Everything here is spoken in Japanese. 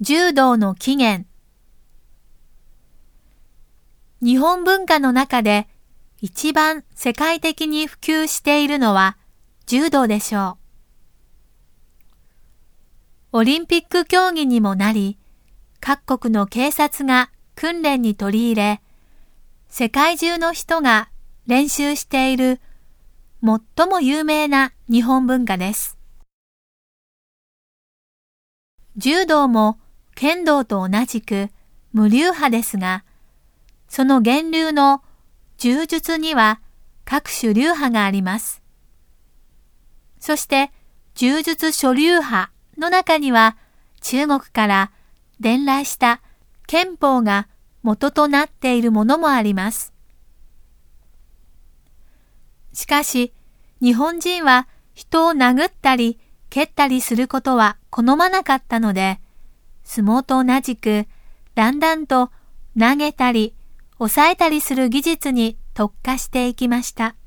柔道の起源。日本文化の中で一番世界的に普及しているのは柔道でしょう。オリンピック競技にもなり、各国の警察が訓練に取り入れ、世界中の人が練習している最も有名な日本文化です。柔道も剣道と同じく無流派ですが、その源流の柔術には各種流派があります。そして柔術諸流派の中には中国から伝来した拳法が元となっているものもあります。しかし日本人は人を殴ったり蹴ったりすることは好まなかったので、相撲と同じくだんだんと投げたり抑えたりする技術に特化していきました。